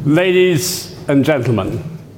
Ladies and gentlemen,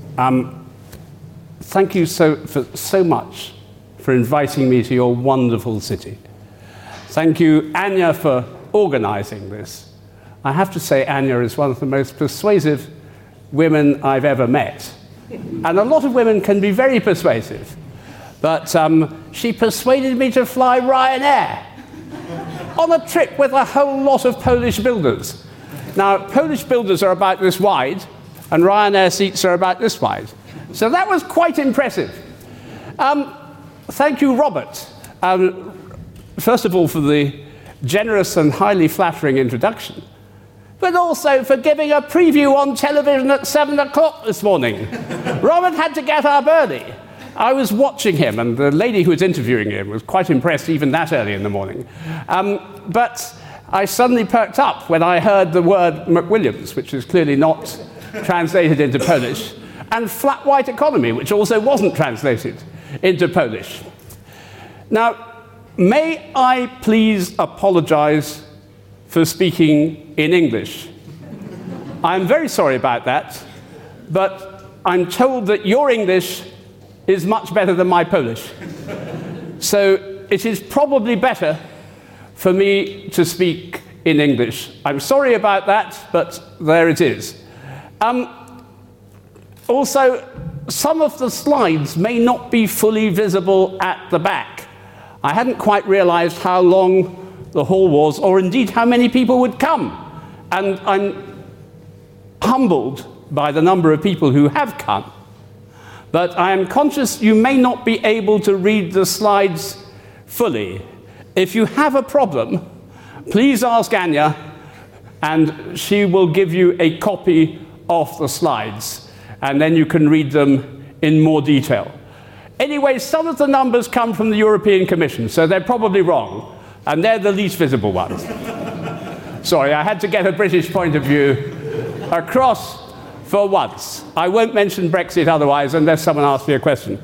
thank you so much for inviting me to your wonderful city. Thank you, Anya, for organizing this. I have to say, Anya is one of the most persuasive women I've ever met. And a lot of women can be very persuasive. But she persuaded me to fly Ryanair on a trip with a whole lot of Polish builders. Now, Polish builders are about this wide, and Ryanair seats are about this wide. So that was quite impressive. Thank you, Robert. First of all, for the generous and highly flattering introduction, but also for giving a preview on television at 7 o'clock this morning. Robert had to get up early. I was watching him, and the lady who was interviewing him was quite impressed even that early in the morning. But I suddenly perked up when I heard the word McWilliams, which is clearly not translated into Polish, and flat white economy, which also wasn't translated into Polish. Now, may I please apologize for speaking in English? I'm very sorry about that, but I'm told that your English is much better than my Polish. So it is probably better for me to speak in English. I'm sorry about that, but there it is. Also, some of the slides may not be fully visible at the back. I hadn't quite realized how long the hall was, or indeed how many people would come. And I'm humbled by the number of people who have come. But I am conscious you may not be able to read the slides fully. If you have a problem, please ask Anya, and she will give you a copy of the slides, and then you can read them in more detail. Anyway, some of the numbers come from the European Commission, so they're probably wrong, and they're the least visible ones. Sorry, I had to get a British point of view across for once. I won't mention Brexit otherwise, unless someone asks me a question.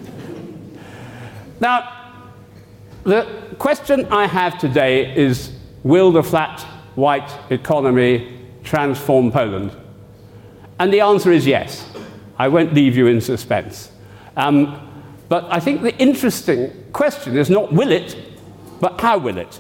Now, the question I have today is, will the flat white economy transform Poland? And the answer is yes. I won't leave you in suspense. But I think the interesting question is not will it, but how will it?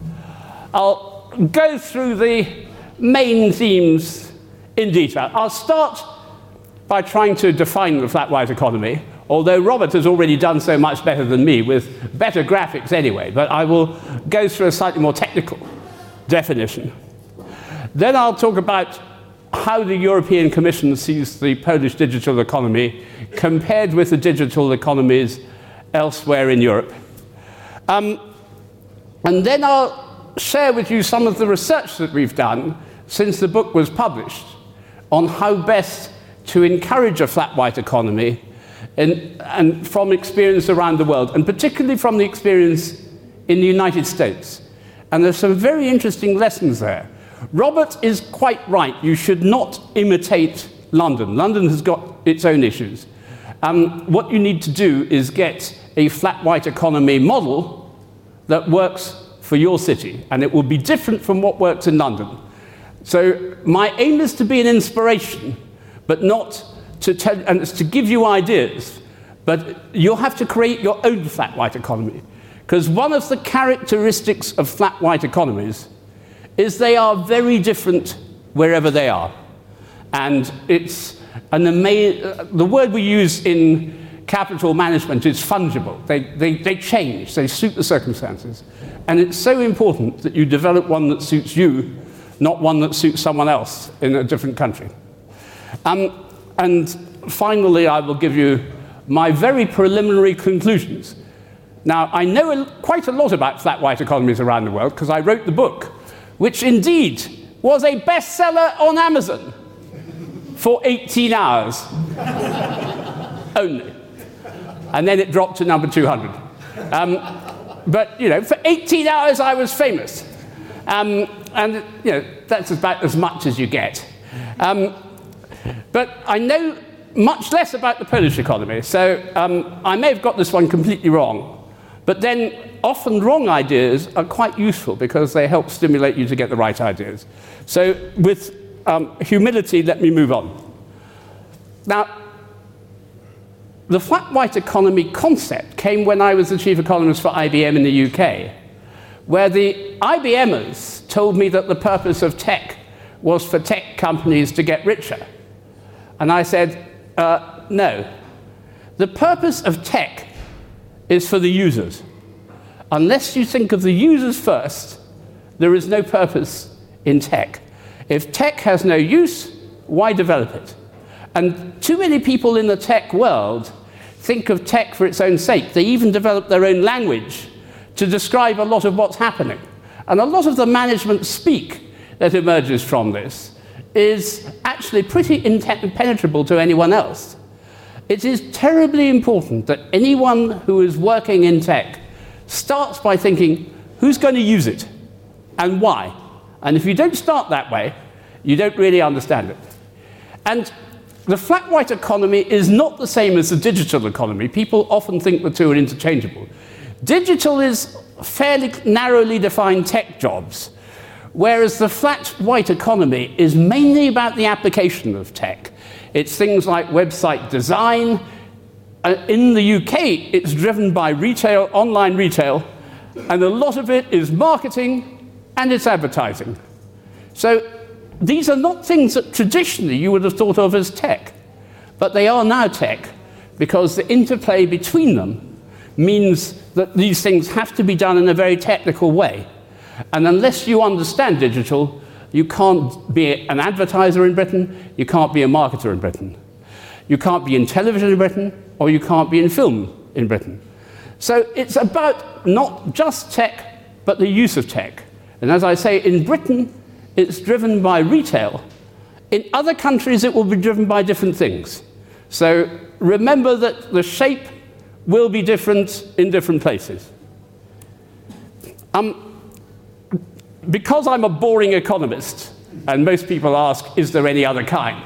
I'll go through the main themes in detail. I'll start by trying to define the flat white economy, although Robert has already done so much better than me with better graphics anyway, but I will go through a slightly more technical definition. Then I'll talk about how the European Commission sees the Polish digital economy compared with the digital economies elsewhere in Europe. And then I'll share with you some of the research that we've done since the book was published on how best to encourage a flat white economy and from experience around the world, and particularly from the experience in the United States. And there's some very interesting lessons there. Robert is quite right. You should not imitate London. London has got its own issues. What you need to do is get a flat white economy model that works for your city, and it will be different from what works in London. So my aim is to be an inspiration, but not to tell, and it's to give you ideas, but you'll have to create your own flat white economy. Because one of the characteristics of flat white economies is they are very different wherever they are. And it's the word we use in capital management is fungible. They change, they suit the circumstances. And it's so important that you develop one that suits you, not one that suits someone else in a different country. And finally, I will give you my very preliminary conclusions. Now, I know quite a lot about flat white economies around the world because I wrote the book, which indeed was a bestseller on Amazon for 18 hours only. And then it dropped to number 200. But, you know, for 18 hours I was famous. And, you know, that's about as much as you get. But I know much less about the Polish economy, so I may have got this one completely wrong. But then often wrong ideas are quite useful because they help stimulate you to get the right ideas. So with humility, let me move on. Now, the flat white economy concept came when I was the chief economist for IBM in the UK, where the IBMers told me that the purpose of tech was for tech companies to get richer. And I said, no. The purpose of tech is for the users. Unless you think of the users first, there is no purpose in tech. If tech has no use, why develop it? And too many people in the tech world think of tech for its own sake. They even develop their own language to describe a lot of what's happening. And a lot of the management speak that emerges from this is actually pretty impenetrable to anyone else. It is terribly important that anyone who is working in tech starts by thinking, who's going to use it and why? And if you don't start that way, you don't really understand it. And the flat white economy is not the same as the digital economy. People often think the two are interchangeable. Digital is fairly narrowly defined tech jobs, whereas the flat white economy is mainly about the application of tech. It's things like website design. In the UK, it's driven by retail, online retail, and a lot of it is marketing and it's advertising. So these are not things that traditionally you would have thought of as tech, but they are now tech because the interplay between them means that these things have to be done in a very technical way. And unless you understand digital, you can't be an advertiser in Britain, you can't be a marketer in Britain. You can't be in television in Britain, or you can't be in film in Britain. So it's about not just tech, but the use of tech. And as I say, in Britain, it's driven by retail. In other countries, it will be driven by different things. So remember that the shape will be different in different places. Because I'm a boring economist, and most people ask, is there any other kind?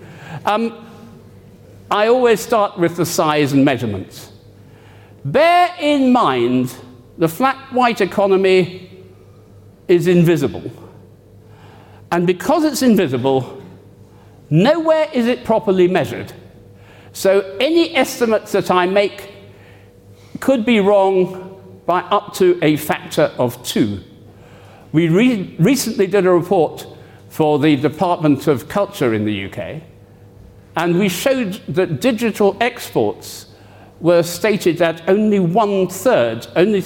I always start with the size and measurements. Bear in mind, the flat white economy is invisible. And because it's invisible, nowhere is it properly measured. So any estimates that I make could be wrong by up to a factor of 2. We recently did a report for the Department of Culture in the UK, and we showed that digital exports were stated at only 1/3, only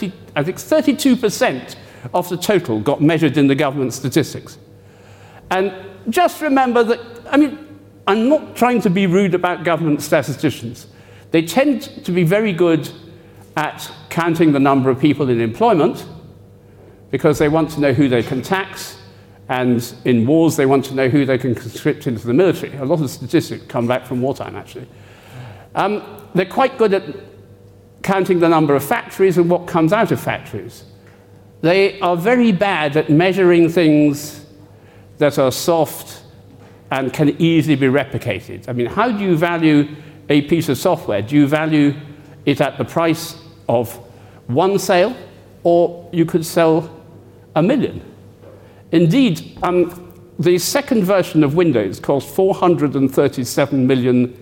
32% of the total got measured in the government statistics. And just remember that, I'm not trying to be rude about government statisticians. They tend to be very good at counting the number of people in employment because they want to know who they can tax, and in wars they want to know who they can conscript into the military. A lot of statistics come back from wartime, actually. They're quite good at counting the number of factories and what comes out of factories. They are very bad at measuring things that are soft and can easily be replicated. How do you value a piece of software? Do you value it at the price of one sale, or you could sell 1 million? Indeed, the second version of Windows cost $437 million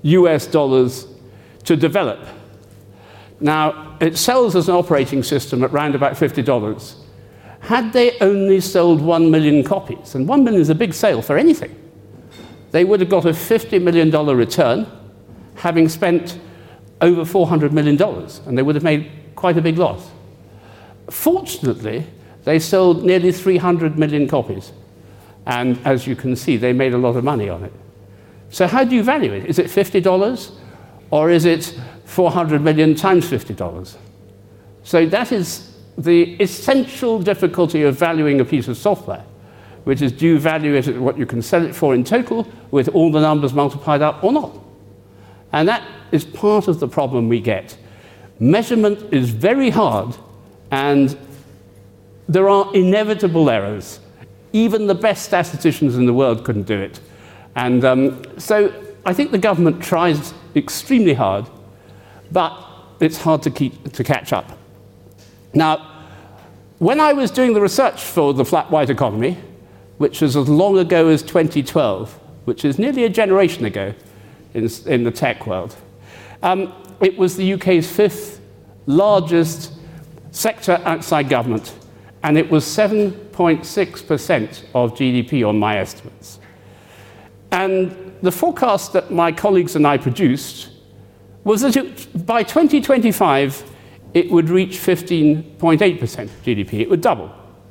to develop. Now, it sells as an operating system at around about $50. Had they only sold 1 million copies, and 1 million is a big sale for anything, they would have got a $50 million return, having spent over $400 million, and they would have made quite a big loss. Fortunately, they sold nearly 300 million copies, and as you can see, they made a lot of money on it. So how do you value it? Is it $50, or is it 400 million times $50? So that is the essential difficulty of valuing a piece of software, which is, do you value it at what you can sell it for in total, with all the numbers multiplied up, or not? And that is part of the problem we get. Measurement is very hard, and there are inevitable errors. Even the best statisticians in the world couldn't do it. And so I think the government tries extremely hard, but it's hard to catch up. Now, when I was doing the research for the flat white economy, which was as long ago as 2012, which is nearly a generation ago in the tech world. It was the UK's 5th largest sector outside government, and it was 7.6% of GDP on my estimates. And the forecast that my colleagues and I produced was that by 2025, it would reach 15.8% GDP. It would double.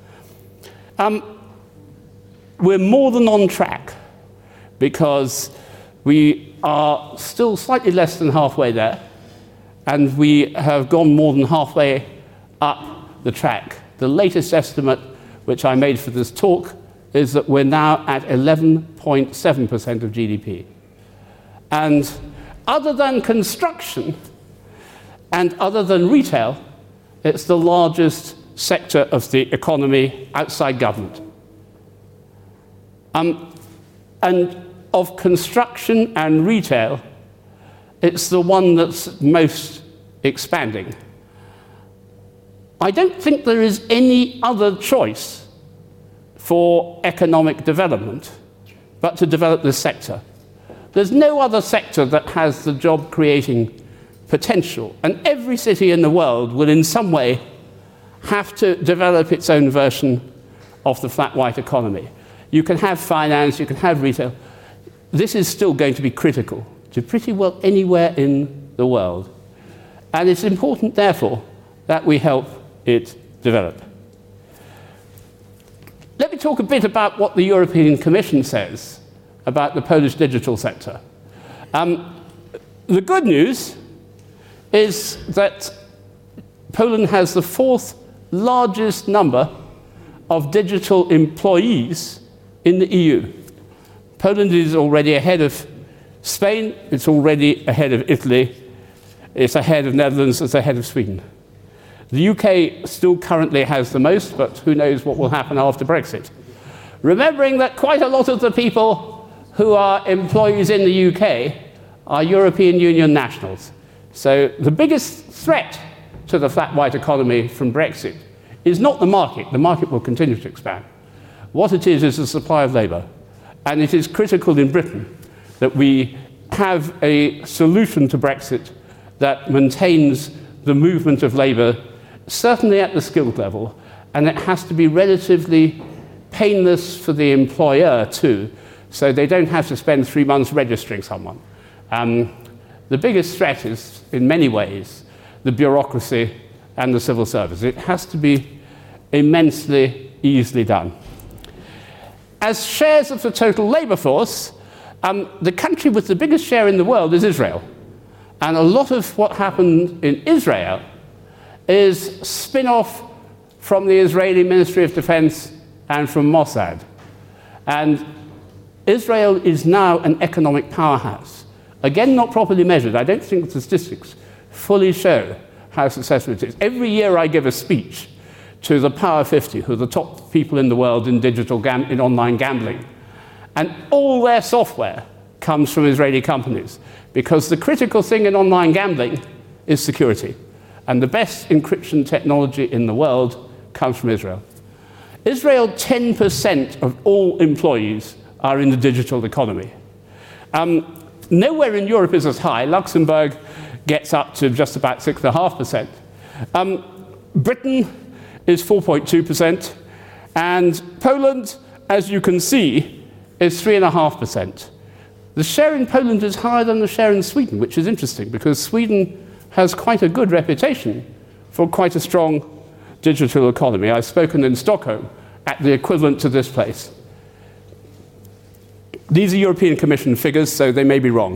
We're more than on track because we are still slightly less than halfway there, and we have gone more than halfway up the track. The latest estimate, which I made for this talk, is that we're now at 11.7% of GDP. And other than construction and other than retail, it's the largest sector of the economy outside government. And of construction and retail, it's the one that's most expanding. I don't think there is any other choice for economic development but to develop this sector. There's no other sector that has the job-creating potential, and every city in the world will in some way have to develop its own version of the flat white economy. You can have finance, you can have retail. This is still going to be critical to pretty well anywhere in the world. And it's important, therefore, that we help it develop. Let me talk a bit about what the European Commission says about the Polish digital sector. The good news is that Poland has the 4th largest number of digital employees in the EU. Poland is already ahead of Spain, it's already ahead of Italy, it's ahead of Netherlands, it's ahead of Sweden. The UK still currently has the most, but who knows what will happen after Brexit. Remembering that quite a lot of the people who are employees in the UK are European Union nationals. So the biggest threat to the flat white economy from Brexit is not the market. The market will continue to expand. What it is the supply of labour. And it is critical in Britain that we have a solution to Brexit that maintains the movement of labour, certainly at the skilled level, and it has to be relatively painless for the employer too, so they don't have to spend 3 months registering someone. The biggest threat is, in many ways, the bureaucracy and the civil service. It has to be immensely easily done. As shares of the total labour force, the country with the biggest share in the world is Israel. And a lot of what happened in Israel is spin-off from the Israeli Ministry of Defense and from Mossad. And Israel is now an economic powerhouse. Again, not properly measured. I don't think the statistics fully show how successful it is. Every year I give a speech to the Power 50, who are the top people in the world in in online gambling. And all their software comes from Israeli companies, because the critical thing in online gambling is security. And the best encryption technology in the world comes from Israel. Israel, 10% of all employees are in the digital economy. Nowhere in Europe is as high. Luxembourg gets up to just about 6.5%. Britain is 4.2%, and Poland, as you can see, is 3.5%. The share in Poland is higher than the share in Sweden, which is interesting, because Sweden has quite a good reputation for quite a strong digital economy. I've spoken in Stockholm at the equivalent to this place. These are European Commission figures, so they may be wrong,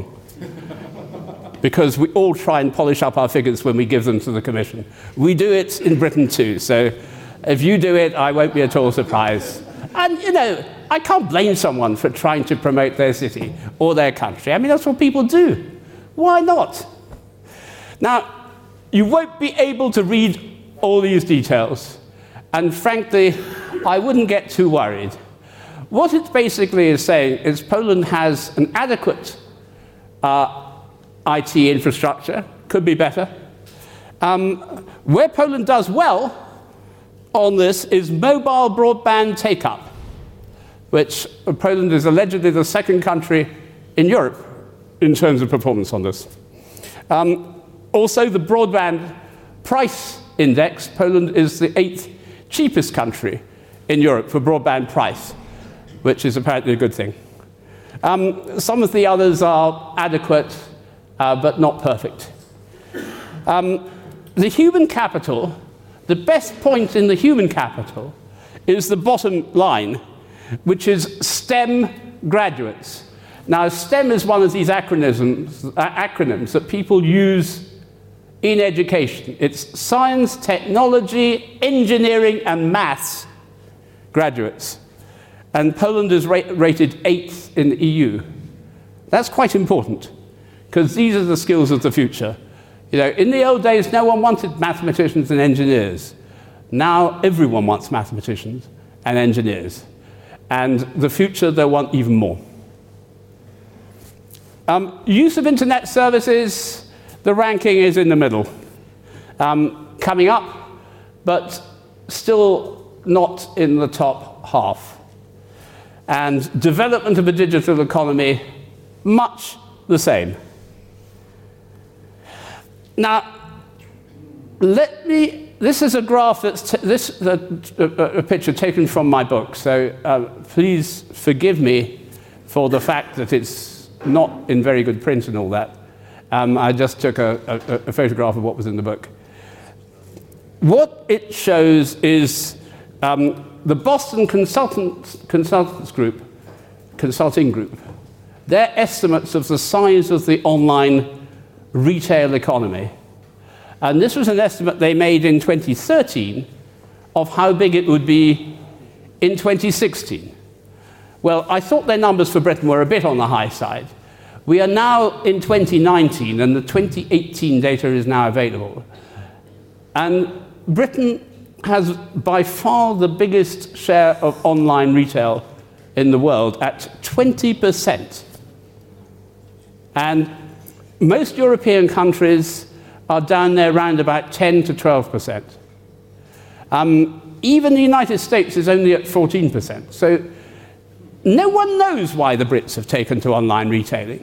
because we all try and polish up our figures when we give them to the Commission. We do it in Britain too, so if you do it, I won't be at all surprised. And, you know, I can't blame someone for trying to promote their city or their country. I mean, that's what people do. Why not? Now, you won't be able to read all these details, and frankly, I wouldn't get too worried. What it basically is saying is Poland has an adequate IT infrastructure, could be better. Where Poland does well on this is mobile broadband take-up. which Poland is allegedly the second country in Europe in terms of performance on this. Also, the broadband price index, Poland is the 8th cheapest country in Europe for broadband price, which is apparently a good thing. Some of the others are adequate, but not perfect. The human capital, the best point in the human capital is the bottom line, which is STEM graduates. Now, STEM is one of these acronyms that people use in education. It's science, technology, engineering, and maths graduates. And Poland is rated 8th in the EU. That's quite important, because these are the skills of the future. You know, in the old days, no one wanted mathematicians and engineers. Now, everyone wants mathematicians and engineers. And the future, they'll want even more. Use of internet services, the ranking is in the middle. Coming up, but still not in the top half. And development of a digital economy, much the same. Now, this is a graph a picture taken from my book, so please forgive me for the fact that it's not in very good print and all that. I just took a photograph of what was in the book. What it shows is the Boston Consulting Group, their estimates of the size of the online retail economy. And this was an estimate they made in 2013 of how big it would be in 2016. Well, I thought their numbers for Britain were a bit on the high side. We are now in 2019, and the 2018 data is now available. And Britain has by far the biggest share of online retail in the world at 20%. And most European countries are down there around about 10 to 12%. Even the United States is only at 14%. So no one knows why the Brits have taken to online retailing.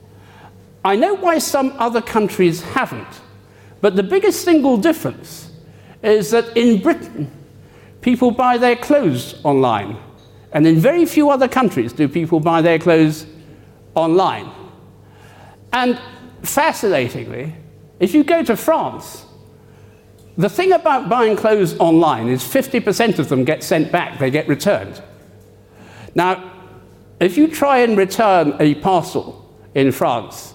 I know why some other countries haven't, but the biggest single difference is that in Britain, people buy their clothes online, and in very few other countries do people buy their clothes online. And fascinatingly, if you go to France, the thing about buying clothes online is 50% of them get sent back, they get returned. Now, if you try and return a parcel in France,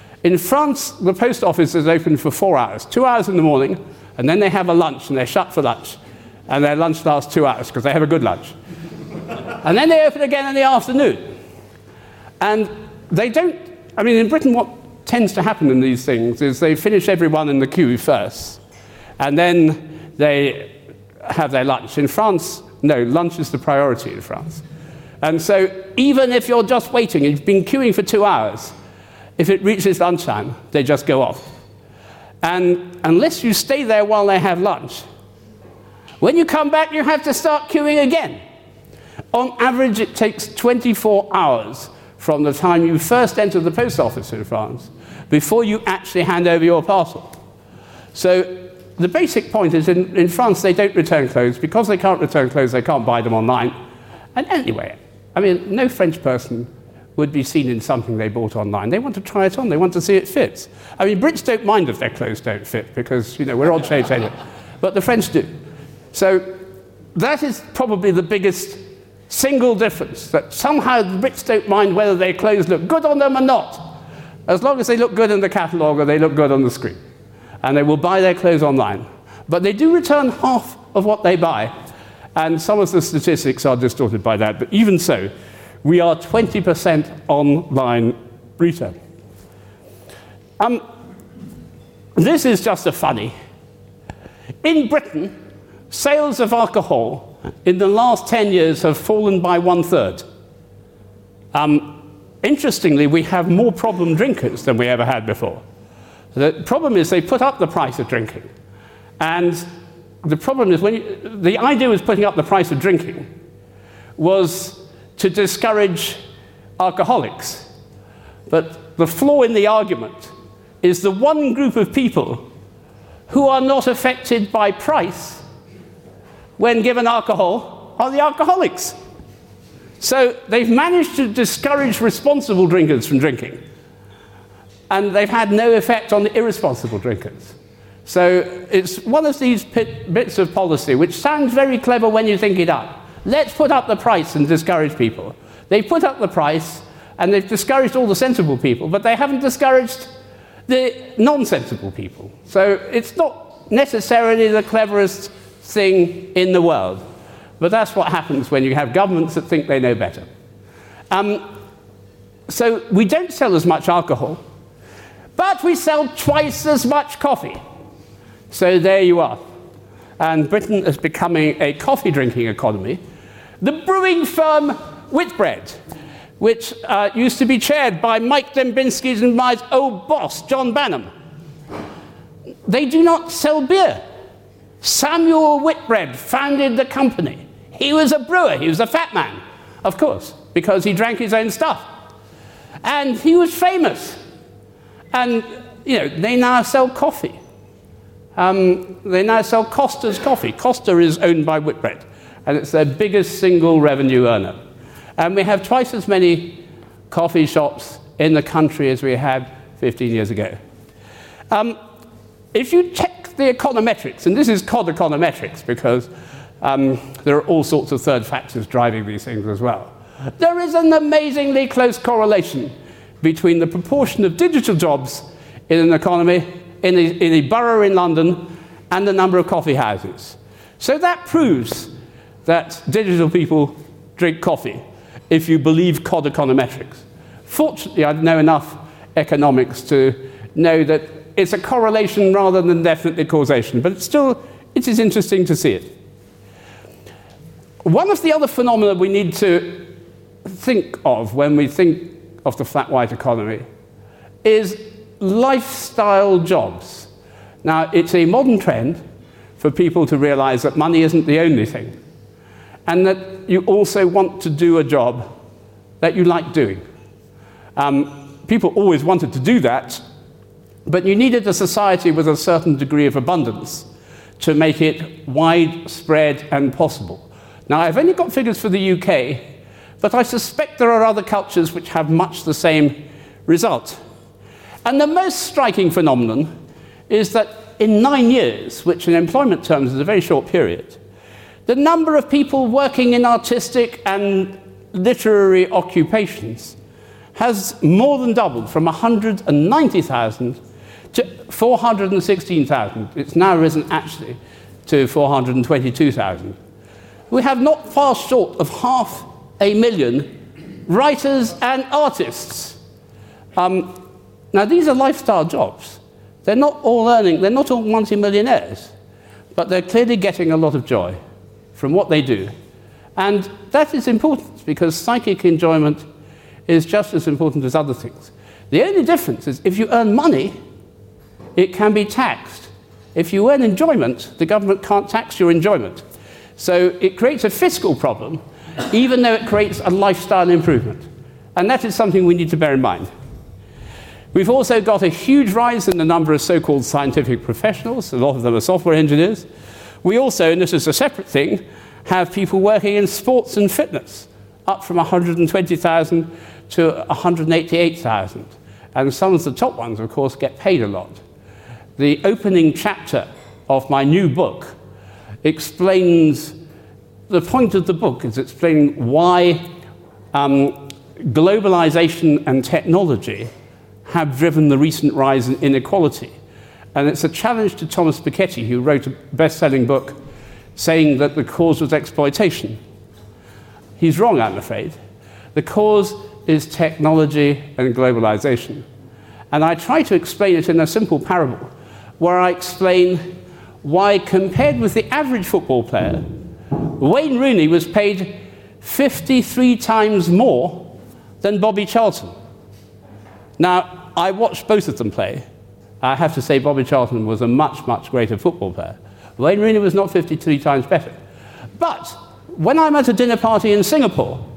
the post office is open for 4 hours, 2 hours in the morning, and then they have a lunch, and they're shut for lunch. And their lunch lasts 2 hours, because they have a good lunch. And then they open again in the afternoon. And they don't, in Britain, what tends to happen in these things is they finish everyone in the queue first, and then they have their lunch. In France, no, lunch is the priority in France. And so even if you're just waiting, you've been queuing for 2 hours, if it reaches lunchtime, they just go off. And unless you stay there while they have lunch, when you come back, you have to start queuing again. On average, it takes 24 hours from the time you first enter the post office in France before you actually hand over your parcel. So the basic point is in France, they don't return clothes. Because they can't return clothes, they can't buy them online. And anyway, no French person would be seen in something they bought online. They want to try it on. They want to see it fits. Brits don't mind if their clothes don't fit because, we're odd shapes anyway. But the French do. So that is probably the biggest single difference, that somehow the Brits don't mind whether their clothes look good on them or not, as long as they look good in the catalogue or they look good on the screen. And they will buy their clothes online. But they do return half of what they buy. And some of the statistics are distorted by that. But even so, we are 20% online retail. This is just a funny. In Britain, sales of alcohol in the last 10 years have fallen by 1/3. Interestingly, we have more problem drinkers than we ever had before. The problem is they put up the price of drinking. And the problem is the idea with putting up the price of drinking was to discourage alcoholics. But the flaw in the argument is the one group of people who are not affected by price when given alcohol are the alcoholics. So they've managed to discourage responsible drinkers from drinking, and they've had no effect on the irresponsible drinkers. So it's one of these bits of policy which sounds very clever when you think it up. Let's put up the price and discourage people. They put up the price and they've discouraged all the sensible people, but they haven't discouraged the non-sensible people. So it's not necessarily the cleverest thing in the world, but that's what happens when you have governments that think they know better. So we don't sell as much alcohol, but we sell twice as much coffee. So there you are. And Britain is becoming a coffee-drinking economy. The brewing firm Whitbread, which used to be chaired by Mike Dembinski's and my old boss, John Banham, they do not sell beer. Samuel Whitbread founded the company. He was a brewer. He was a fat man, of course, because he drank his own stuff. And he was famous. And, you know, they now sell coffee. They now sell Costa's coffee. Costa is owned by Whitbread, and it's their biggest single revenue earner. And we have twice as many coffee shops in the country as we had 15 years ago. If you check the econometrics, and this is cod econometrics because there are all sorts of third factors driving these things as well, there is an amazingly close correlation between the proportion of digital jobs in an economy, in a borough in London, and the number of coffee houses. So that proves that digital people drink coffee, if you believe cod econometrics. Fortunately, I know enough economics to know that it's a correlation rather than definitely causation, but it is interesting to see it. One of the other phenomena we need to think of when we think of the flat white economy is lifestyle jobs. Now, it's a modern trend for people to realize that money isn't the only thing, and that you also want to do a job that you like doing. People always wanted to do that, but you needed a society with a certain degree of abundance to make it widespread and possible. Now, I've only got figures for the UK, but I suspect there are other cultures which have much the same result. And the most striking phenomenon is that in 9 years, which in employment terms is a very short period, the number of people working in artistic and literary occupations has more than doubled from 190,000 to 416,000. It's now risen actually to 422,000. We have not far short of 500,000 writers and artists. Now, these are lifestyle jobs. They're not all earning, they're not all multi-millionaires, but they're clearly getting a lot of joy from what they do. And that is important because psychic enjoyment is just as important as other things. The only difference is if you earn money, it can be taxed. If you earn enjoyment, the government can't tax your enjoyment. So it creates a fiscal problem, even though it creates a lifestyle improvement. And that is something we need to bear in mind. We've also got a huge rise in the number of so-called scientific professionals. A lot of them are software engineers. We also, and this is a separate thing, have people working in sports and fitness, up from 120,000 to 188,000. And some of the top ones, of course, get paid a lot. The opening chapter of my new book explains, the point of the book is explaining why globalization and technology have driven the recent rise in inequality. And it's a challenge to Thomas Piketty, who wrote a best-selling book saying that the cause was exploitation. He's wrong, I'm afraid. The cause is technology and globalization. And I try to explain it in a simple parable, where I explain why, compared with the average football player, Wayne Rooney was paid 53 times more than Bobby Charlton. Now, I watched both of them play. I have to say Bobby Charlton was a much, much greater football player. Wayne Rooney was not 53 times better. But when I'm at a dinner party in Singapore,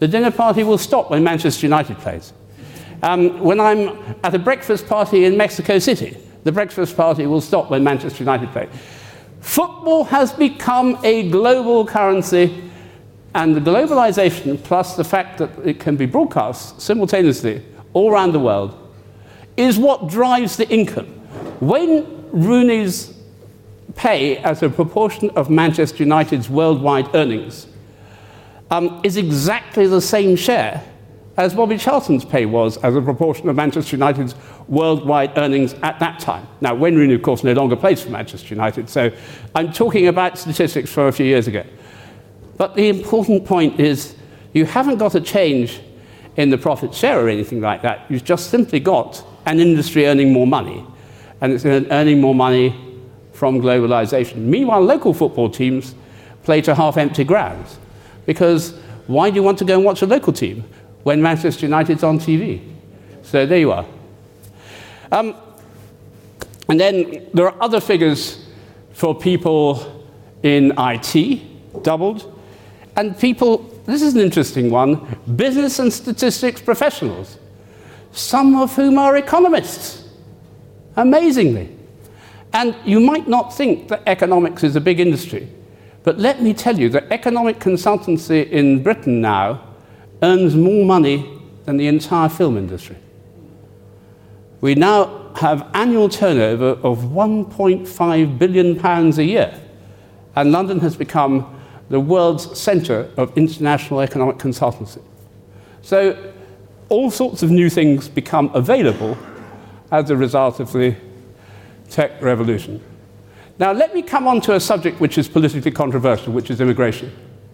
The dinner party will stop when Manchester United plays. When I'm at a breakfast party in Mexico City, the breakfast party will stop when Manchester United plays. Football has become a global currency, and the globalization, plus the fact that it can be broadcast simultaneously all around the world, is what drives the income. When Rooney's pay as a proportion of Manchester United's worldwide earnings is exactly the same share as Bobby Charlton's pay was as a proportion of Manchester United's worldwide earnings at that time. Now, Wayne Rooney, of course, no longer plays for Manchester United, so I'm talking about statistics from a few years ago. But the important point is you haven't got a change in the profit share or anything like that. You've just simply got an industry earning more money, and it's earning more money from globalization. Meanwhile, local football teams play to half-empty grounds, because why do you want to go and watch a local team when Manchester United's on TV? So there you are. And then there are other figures for people in IT, doubled, and people, this is an interesting one, business and statistics professionals, some of whom are economists, amazingly. And you might not think that economics is a big industry, but let me tell you that economic consultancy in Britain now earns more money than the entire film industry. We now have annual turnover of £1.5 billion a year, and London has become the world's centre of international economic consultancy. So all sorts of new things become available as a result of the tech revolution. Now let me come on to a subject which is politically controversial, which is immigration.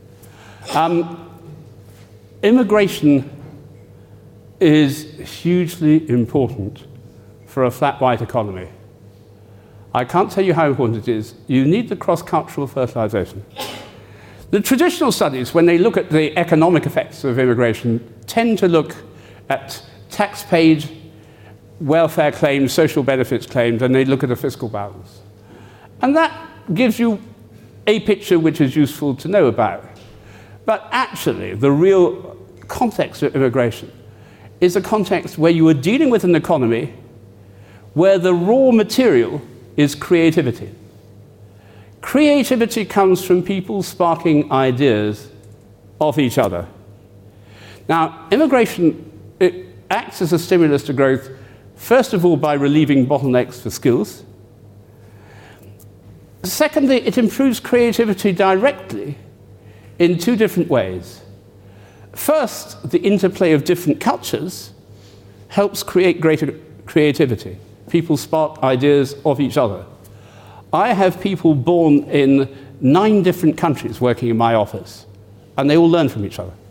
Immigration is hugely important for a flat white economy. I can't tell you how important it is. You need the cross-cultural fertilization. The traditional studies, when they look at the economic effects of immigration, tend to look at tax paid, welfare claims, social benefits claims, and they look at a fiscal balance. And that gives you a picture which is useful to know about. But actually, the real context of immigration is a context where you are dealing with an economy where the raw material is creativity. Creativity comes from people sparking ideas of each other. Now, immigration, it acts as a stimulus to growth, first of all, by relieving bottlenecks for skills. Secondly, it improves creativity directly in two different ways. First, the interplay of different cultures helps create greater creativity. People spark ideas of each other. I have people born in 9 different countries working in my office, and they all learn from each other.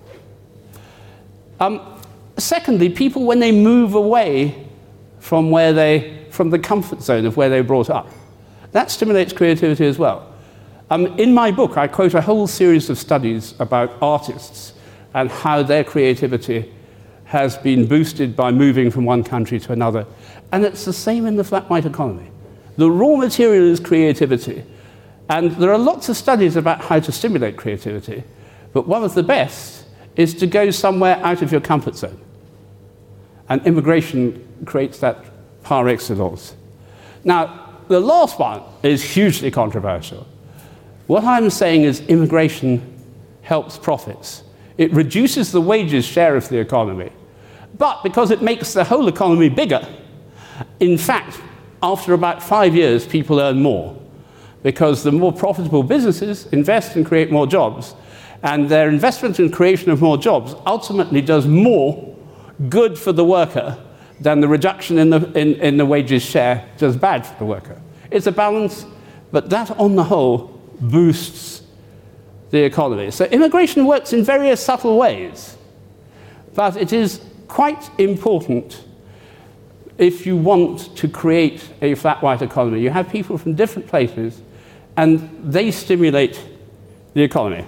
Secondly, people, when they move away from the comfort zone of where they were brought up, that stimulates creativity as well. In my book, I quote a whole series of studies about artists and how their creativity has been boosted by moving from one country to another. And it's the same in the flat white economy. The raw material is creativity. And there are lots of studies about how to stimulate creativity, but one of the best is to go somewhere out of your comfort zone. And immigration creates that par excellence. Now, the last one is hugely controversial. What I'm saying is immigration helps profits. It reduces the wages share of the economy. But because it makes the whole economy bigger, in fact, after about 5 years, people earn more, because the more profitable businesses invest and create more jobs, and their investment in creation of more jobs ultimately does more good for the worker than the reduction in the wages share does bad for the worker. It's a balance, but that on the whole boosts the economy. So immigration works in various subtle ways, but it is quite important if you want to create a flat white economy. You have people from different places, and they stimulate the economy.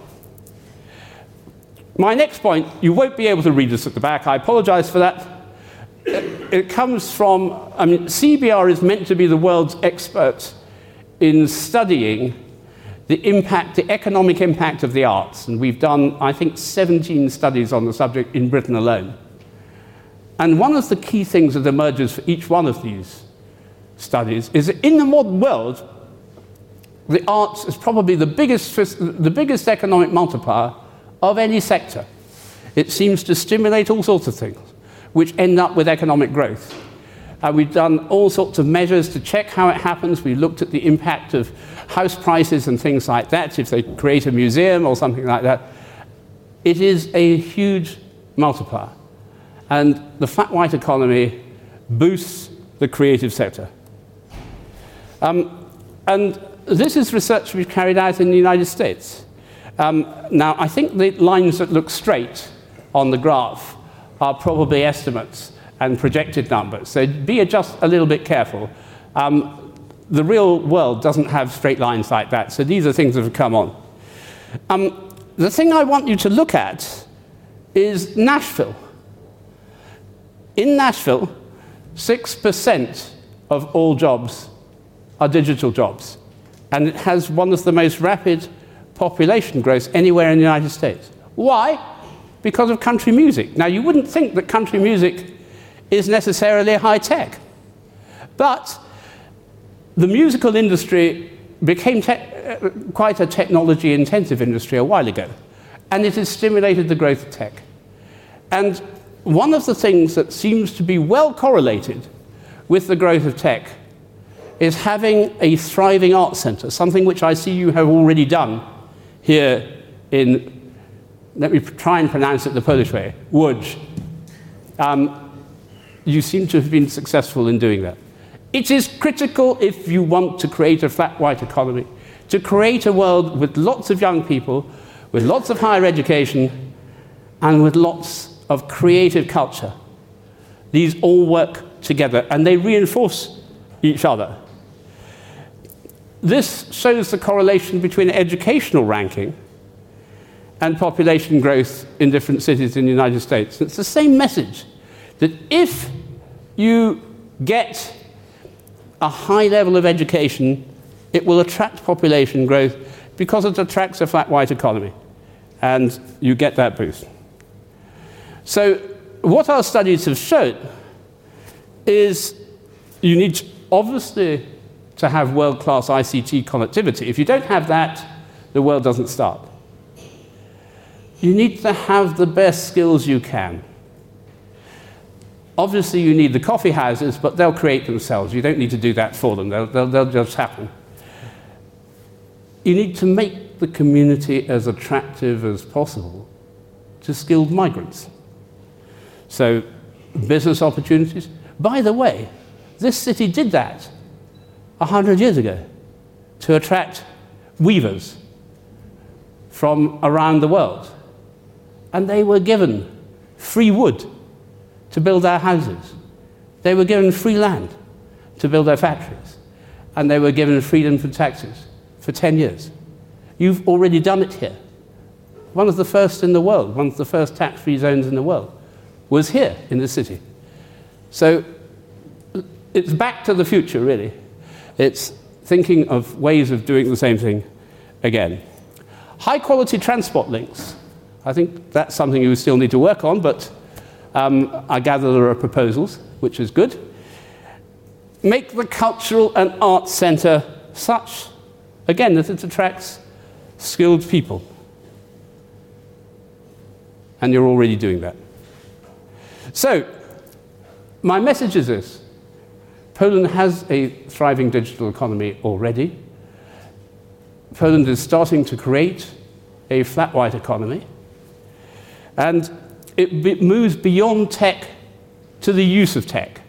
My next point, you won't be able to read this at the back. I apologize for that. It comes from, CBR is meant to be the world's expert in studying the impact, the economic impact of the arts. And we've done, I think, 17 studies on the subject in Britain alone. And one of the key things that emerges for each one of these studies is that in the modern world, the arts is probably the biggest economic multiplier of any sector. It seems to stimulate all sorts of things, which end up with economic growth. We've done all sorts of measures to check how it happens. We looked at the impact of house prices and things like that, if they create a museum or something like that. It is a huge multiplier. And the flat white economy boosts the creative sector. And this is research we've carried out in the United States. Now, I think the lines that look straight on the graph are probably estimates and projected numbers. So be just a little bit careful. The real world doesn't have straight lines like that. So these are things that have come on. The thing I want you to look at is Nashville. In Nashville, 6% of all jobs are digital jobs. And it has one of the most rapid population growth anywhere in the United States. Why? Because of country music. Now, you wouldn't think that country music is necessarily high tech. But the musical industry became quite a technology-intensive industry a while ago. And it has stimulated the growth of tech. And one of the things that seems to be well correlated with the growth of tech is having a thriving arts center, something which I see you have already done here in, let me try and pronounce it the Polish way, Łódź. You seem to have been successful in doing that. It is critical if you want to create a flat white economy, to create a world with lots of young people, with lots of higher education, and with lots of creative culture. These all work together, and they reinforce each other. This shows the correlation between educational ranking and population growth in different cities in the United States. It's the same message, that if you get a high level of education, it will attract population growth because it attracts a flat white economy, and you get that boost. So what our studies have shown is you need, obviously, to have world-class ICT connectivity. If you don't have that, the world doesn't start. You need to have the best skills you can. Obviously, you need the coffee houses, but they'll create themselves. You don't need to do that for them. They'll just happen. You need to make the community as attractive as possible to skilled migrants. So, business opportunities. By the way, this city did that 100 years ago to attract weavers from around the world. And they were given free wood to build their houses. They were given free land to build their factories. And they were given freedom from taxes for 10 years. You've already done it here. One of the first in the world, one of the first tax-free zones in the world, was here in the city. So it's back to the future, really. It's thinking of ways of doing the same thing again. High-quality transport links. I think that's something you still need to work on, but I gather there are proposals, which is good. Make the cultural and arts centre such, again, that it attracts skilled people. And you're already doing that. So, my message is this. Poland has a thriving digital economy already. Poland is starting to create a flat white economy. And it moves beyond tech to the use of tech.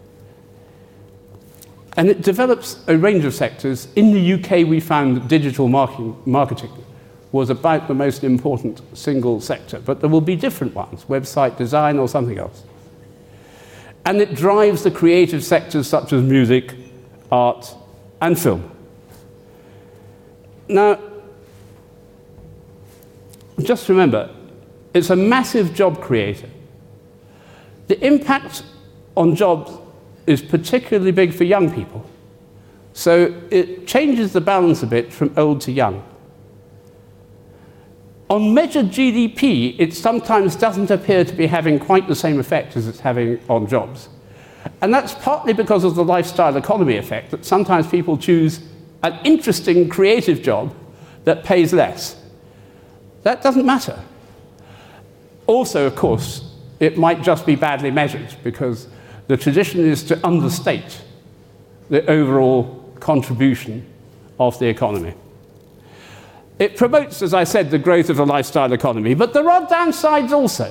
And it develops a range of sectors. In the UK, we found that digital marketing was about the most important single sector, but there will be different ones, website design or something else. And it drives the creative sectors such as music, art, and film. Now, just remember, it's a massive job creator. The impact on jobs is particularly big for young people. So it changes the balance a bit from old to young. On measured GDP, it sometimes doesn't appear to be having quite the same effect as it's having on jobs. And that's partly because of the lifestyle economy effect, that sometimes people choose an interesting, creative job that pays less. That doesn't matter. Also, of course, it might just be badly measured, because the tradition is to understate the overall contribution of the economy. It promotes, as I said, the growth of the lifestyle economy, but there are downsides also.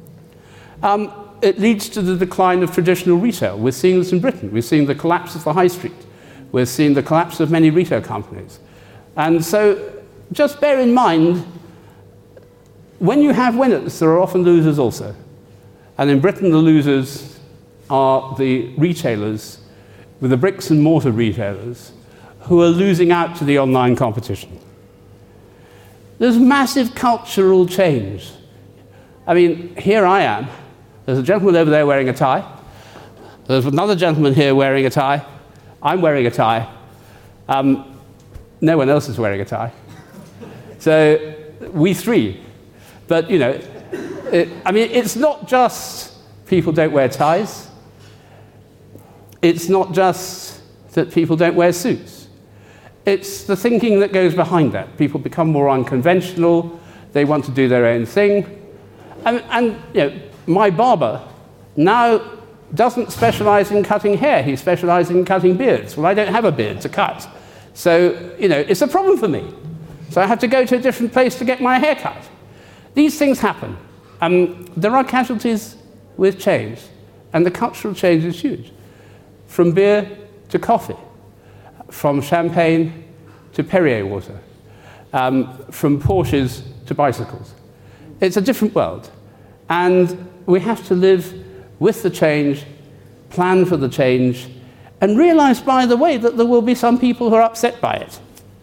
It leads to the decline of traditional retail. We're seeing this in Britain. We're seeing the collapse of the high street. We're seeing the collapse of many retail companies. And so just bear in mind, when you have winners, there are often losers also. And in Britain, the losers are the retailers, with the bricks and mortar retailers, who are losing out to the online competition. There's massive cultural change. I mean, here I am. There's a gentleman over there wearing a tie. There's another gentleman here wearing a tie. I'm wearing a tie. No one else is wearing a tie. So we three. But, you know, it's not just people don't wear ties. It's not just that people don't wear suits. It's the thinking that goes behind that. People become more unconventional. They want to do their own thing. And you know, my barber now doesn't specialize in cutting hair. He specializes in cutting beards. Well, I don't have a beard to cut. So, you know, it's a problem for me. So I have to go to a different place to get my hair cut. These things happen. There are casualties with change, and the cultural change is huge. From beer to coffee, from champagne to Perrier water, from Porsches to bicycles. It's a different world. And we have to live with the change, plan for the change, and realize, by the way, that there will be some people who are upset by it.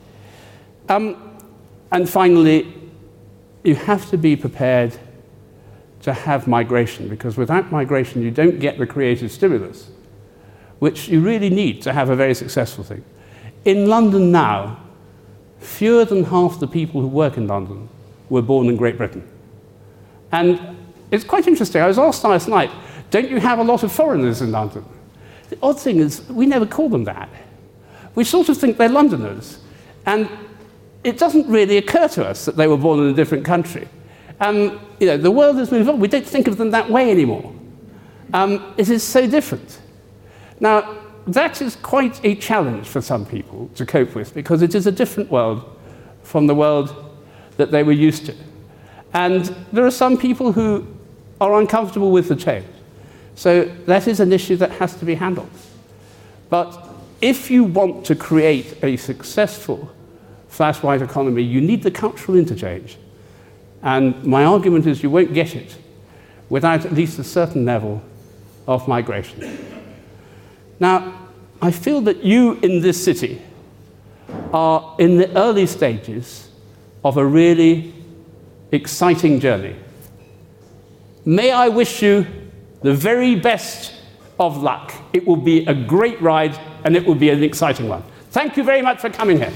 And finally, you have to be prepared to have migration, because without migration, you don't get the creative stimulus, which you really need to have a very successful thing. In London now, fewer than half the people who work in London were born in Great Britain. And it's quite interesting. I was asked last night, don't you have a lot of foreigners in London? The odd thing is, we never call them that. We sort of think they're Londoners. And it doesn't really occur to us that they were born in a different country. You know, the world has moved on. We don't think of them that way anymore. It is so different. Now, that is quite a challenge for some people to cope with, because it is a different world from the world that they were used to. And there are some people who are uncomfortable with the change. So that is an issue that has to be handled. But if you want to create a successful flash white economy, you need the cultural interchange. And my argument is you won't get it without at least a certain level of migration. Now, I feel that you in this city are in the early stages of a really exciting journey. May I wish you the very best of luck. It will be a great ride, and it will be an exciting one. Thank you very much for coming here.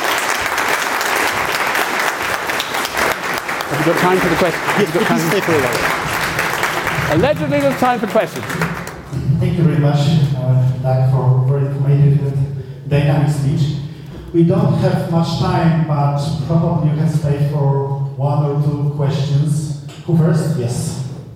Have you got time for the questions? Yes, please stay for a while. Allegedly, there's time for questions. Thank you very much, Doug, for a very informative and dynamic speech. We don't have much time, but probably you can stay for one or two questions. Who first? Yes.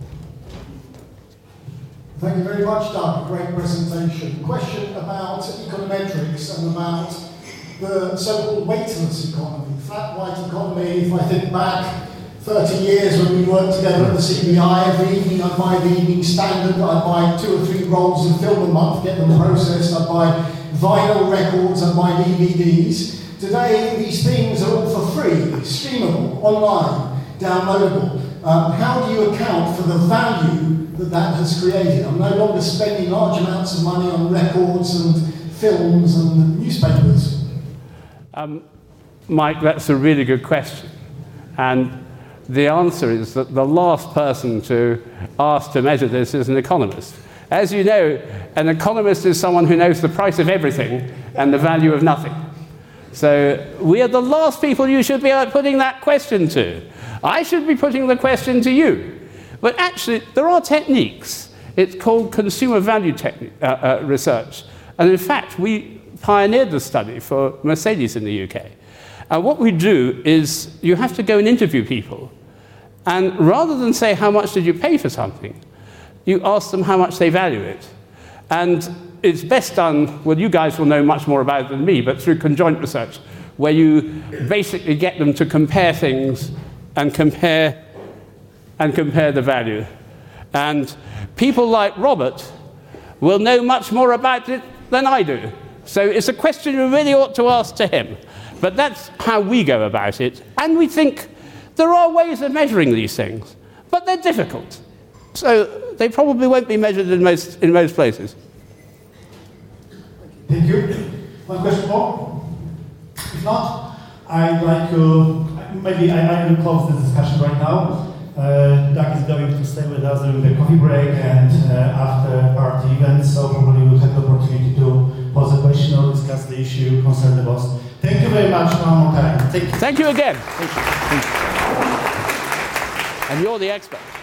Thank you very much, Doug. Great presentation. Question about econometrics and about the so-called weightless economy, flat white economy. If I think back 30 years when we worked together at the CBI, every evening I'd buy the Evening Standard, I'd buy 2 or 3 rolls of film a month, get them processed, I'd buy vinyl records, I'd buy DVDs. Today, these things are all for free, streamable, online, downloadable. How do you account for the value that has created? I'm no longer spending large amounts of money on records and films and newspapers. Mike, that's a really good question. And the answer is that the last person to ask to measure this is an economist. As you know, an economist is someone who knows the price of everything and the value of nothing. So we are the last people you should be putting that question to. I should be putting the question to you. But actually, there are techniques. It's called consumer value research. And in fact, we pioneered the study for Mercedes in the UK. And what we do is you have to go and interview people. And rather than say, how much did you pay for something, you ask them how much they value it. And it's best done, well, you guys will know much more about it than me, but through conjoint research, where you basically get them to compare things and compare the value. And people like Robert will know much more about it than I do. So it's a question you really ought to ask to him. But that's how we go about it. And we think there are ways of measuring these things, but they're difficult. So they probably won't be measured in most places. Thank you. One question more? If not, I'd like to, maybe I will close this discussion right now. Doug is going to stay with us during the coffee break and after party events, so probably we'll have the opportunity to pose a question or discuss the issue concerning the boss. Thank you very much one more time. Thank you. Thank you again. Thank you. And you're the expert.